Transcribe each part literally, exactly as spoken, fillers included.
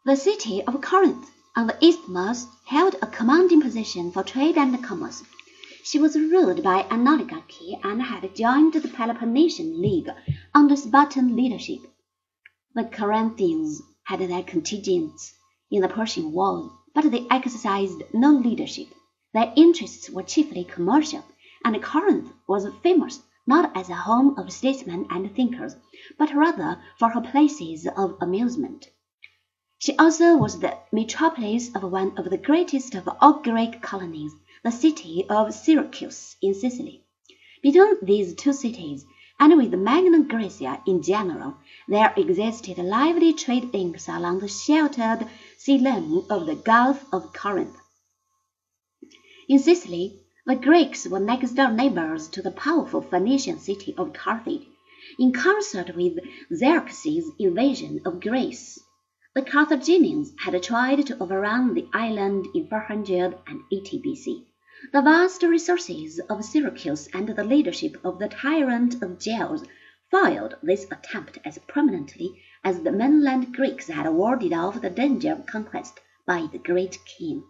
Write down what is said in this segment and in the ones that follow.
The city of Corinth on the isthmus held a commanding position for trade and commerce. She was ruled by an oligarchy and had joined the Peloponnesian League under Spartan leadership. The Corinthians had their contingents in the Persian War, but they exercised no leadership. Their interests were chiefly commercial, and Corinth was famous not as a home of statesmen and thinkers, but rather for her places of amusement. She also was the metropolis of one of the greatest of all Greek colonies, the city of Syracuse in Sicily. Between these two cities, and with Magna Graecia in general, there existed lively trade links along the sheltered sea lane of the Gulf of Corinth. In Sicily, the Greeks were next-door neighbors to the powerful Phoenician city of Carthage, in concert with Xerxes' invasion of Greece. The Carthaginians had tried to overrun the island in four hundred eighty B C. The vast resources of Syracuse and the leadership of the tyrant of Gels foiled this attempt as prominently as the mainland Greeks had warded off the danger of conquest by the great king.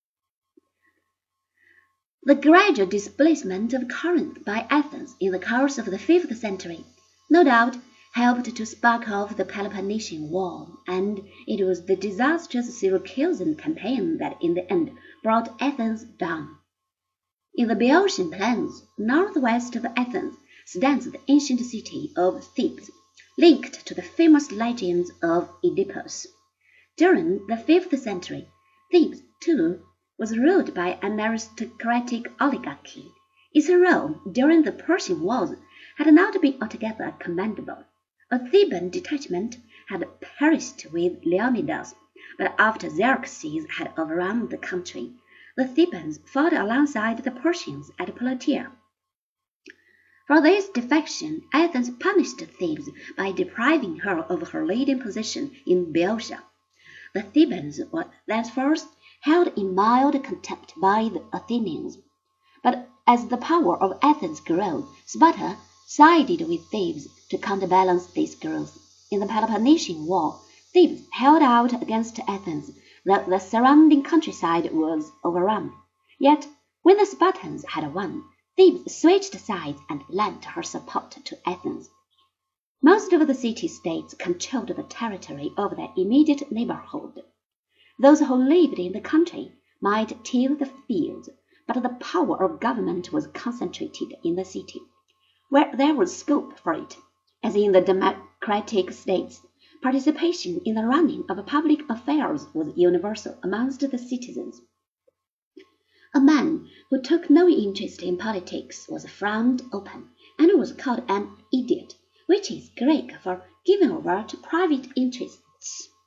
The gradual displacement of Corinth by Athens in the course of the fifth century no doubt helped to spark off the Peloponnesian War, and it was the disastrous Syracusan campaign that in the end brought Athens down. In the Boeotian plains, northwest of Athens, stands the ancient city of Thebes, linked to the famous legends of Oedipus. During the fifth century, Thebes, too, was ruled by an aristocratic oligarchy. Its role during the Persian Wars had not been altogether commendable. A Theban detachment had perished with Leonidas, but after Xerxes had overrun the country, the Thebans fought alongside the Persians at Plataea. For this defection, Athens punished Thebes by depriving her of her leading position in Boeotia. The Thebans were thenceforth held in mild contempt by the Athenians. But as the power of Athens grew, Sparta sided with Thebes to counterbalance this growth. In the Peloponnesian War, Thebes held out against Athens, though the surrounding countryside was overrun. Yet, when the Spartans had won, Thebes switched sides and lent her support to Athens. Most of the city-states controlled the territory of their immediate neighborhood. Those who lived in the country might till the fields, but the power of government was concentrated in the city, where there was scope for it. As in the democratic states, participation in the running of public affairs was universal amongst the citizens. A man who took no interest in politics was frowned upon, and was called an idiot, which is Greek for giving over to private interests.